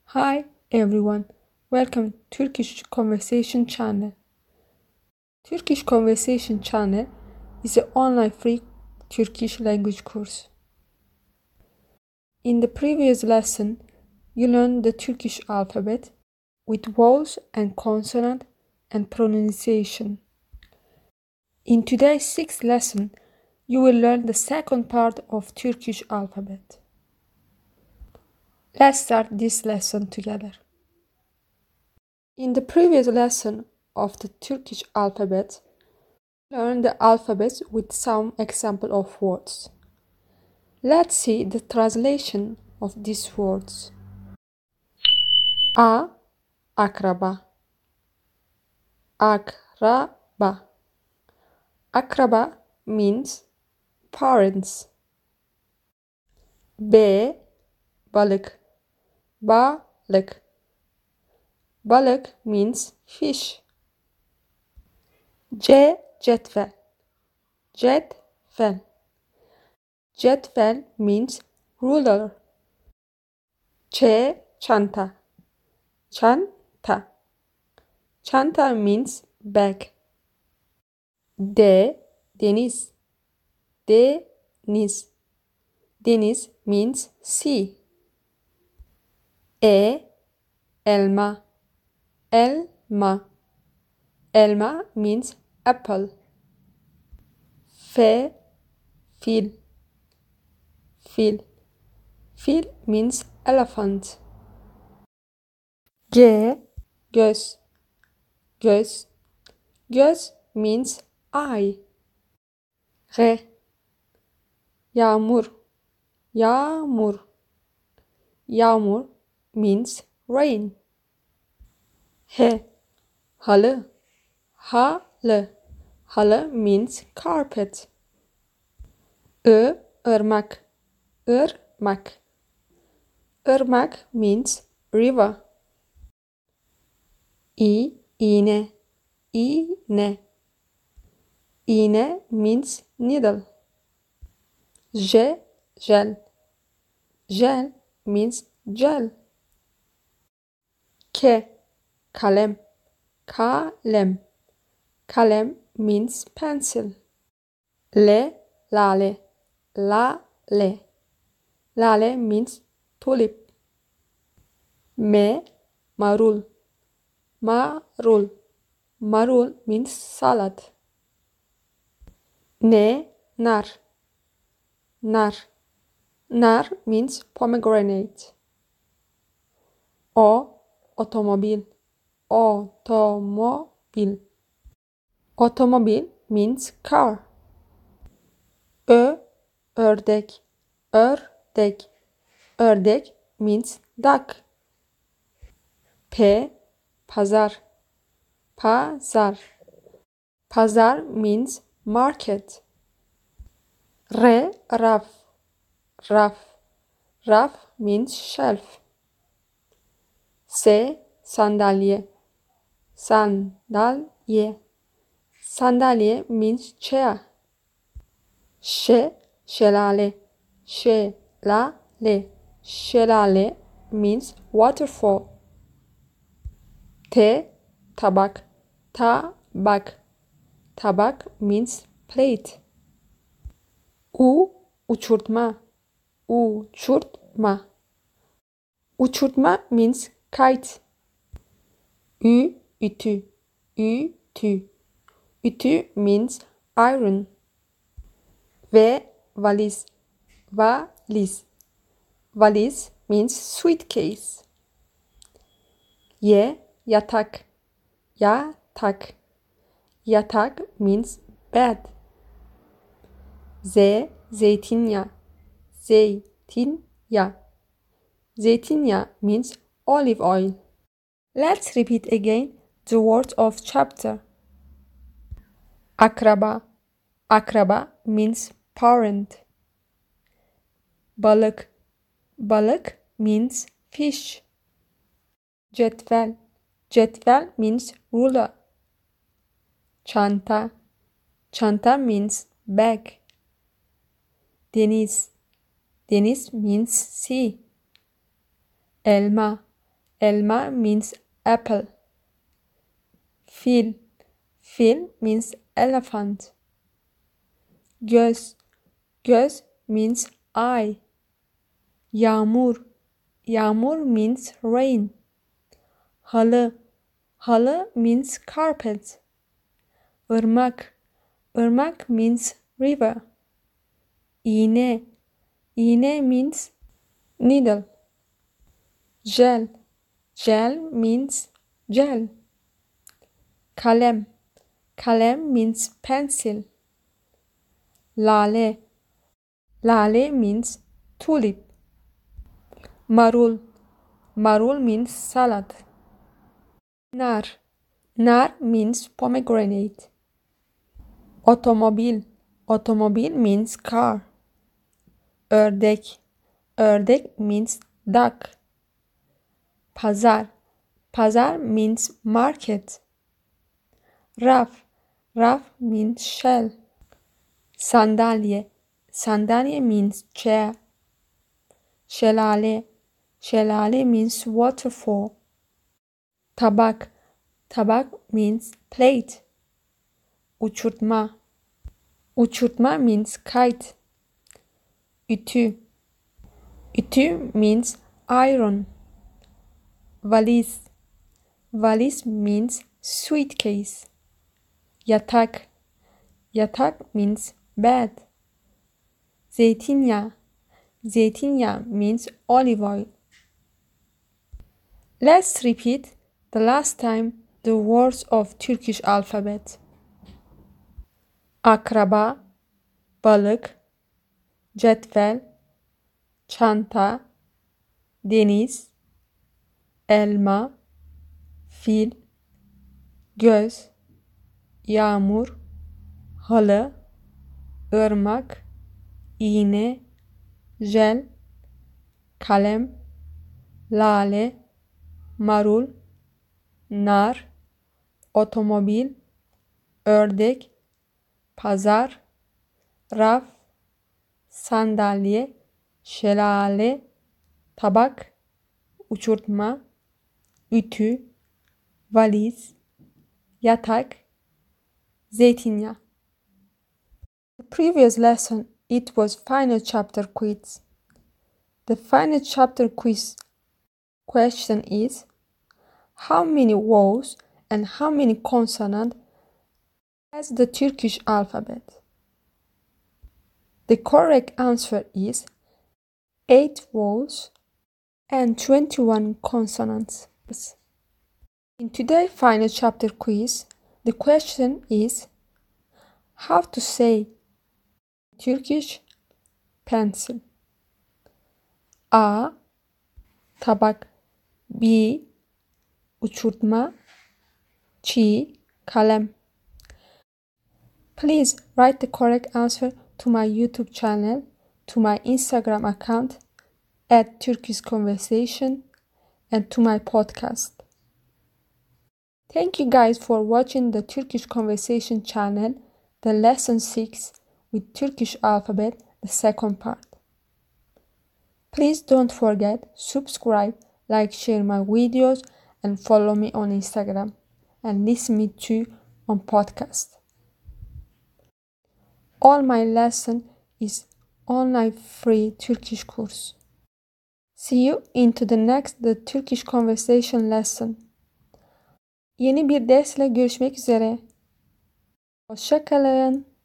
Hi everyone, welcome to Turkish Conversation Channel. Turkish Conversation Channel is an online free Turkish language course. In the previous lesson, you learned the Turkish alphabet with vowels and consonant and pronunciation. In today's sixth lesson, you will learn the second part of Turkish alphabet. Let's start this lesson together. In the previous lesson of the Turkish alphabet, we learned the alphabet with some example of words. Let's see the translation of these words. A. Akraba. Akraba. Akraba means parents. B. Balık. Balık. Balık means fish. C. Cetvel. Cetvel. Cetvel means ruler. Ç. Çanta. Çanta. Çanta means bag. D. Deniz. Deniz. Deniz means sea. E. Elma. Elma. Elma means apple. F. Fil. Fil. Fil means elephant. G. Göz. Göz. Göz means eye. R. Yağmur. Yağmur. Yağmur means rain. H. Halı. Halı. Halı means carpet. I. Irmak. Irmak. Irmak means river. İğne. İğne. İğne means needle. Gel. Gel means gel. Kalem. Kalem. Kalem means pencil. Lale. Lale. Lale means tulip. Marul. Marul. Marul means salad. Nar. Nar. Nar means pomegranate. Otomobil. Otomobil. Otomobil means car. Ördek. Ördek. Ördek means duck. Pazar. Pazar. Pazar means market. Raf. Raf. Raf means shelf. Sandalye. Sandalye. Sandalye means chair. Şelale. Şelale. Şelale means waterfall. Tabak. Tabak. Tabak means plate. Uçurtma. Uçurtma. Uçurtma means kite. Ütü. Ütü. Ütü means iron. Valiz. Valiz. Valiz means suitcase. Yatak. Yatak. Yatak means bed. Zeytinyağı. Zeytinyağı. Zeytinyağı means olive oil. Let's repeat again the words of chapter. Akraba. Akraba means parent. Balık. Balık means fish. Cetvel. Cetvel means ruler. Çanta. Çanta means bag. Deniz. Deniz means sea. Elma. Elma means apple. Fil. Fil means elephant. Göz. Göz means eye. Yağmur. Yağmur means rain. Halı. Halı means carpet. Irmak. Irmak means river. İğne. İğne means needle. Gel. Gel means gel. Kalem. Kalem means pencil. Lale. Lale means tulip. Marul. Marul means salad. Nar. Nar means pomegranate. Otomobil. Otomobil means car. Ördek. Ördek means duck. Pazar. Pazar means market. Raf. Raf means shell. Sandalye. Sandalye means chair. Şelale. Şelale means waterfall. Tabak. Tabak means plate. Uçurtma. Uçurtma means kite. Ütü. Ütü means iron. Valiz. Valiz means suitcase. Yatak. Yatak means bed. Zeytinyağı. Zeytinyağı means olive oil. Let's repeat the last time the words of Turkish alphabet. Akraba, balık, cetvel, çanta, deniz, elma, fil, göz, yağmur, halı, ırmak, iğne, jel, kalem, lale, marul, nar, otomobil, ördek, pazar, raf, sandalye, şelale, tabak, uçurtma, ütü, valiz, yatak, zeytinyağı. The previous lesson, it was final chapter quiz. The final chapter quiz question is, how many vowels and how many consonants has the Turkish alphabet? The correct answer is 8 vowels and 21 consonants. In today's final chapter quiz, the question is how to say Turkish pencil. A. Tabak. B. Uçurtma. C. Kalem. Please write the correct answer to my YouTube channel, to my Instagram account @Turkish Conversation, and to my podcast. Thank you guys for watching the Turkish Conversation channel, the lesson 6 with Turkish alphabet, the second part. Please don't forget, subscribe, like, share my videos, and follow me on Instagram, and listen me too on podcast. All my lesson is online free Turkish course. See you into the next the Turkish Conversation lesson. Yeni bir dersle görüşmek üzere. Hoşça kalın.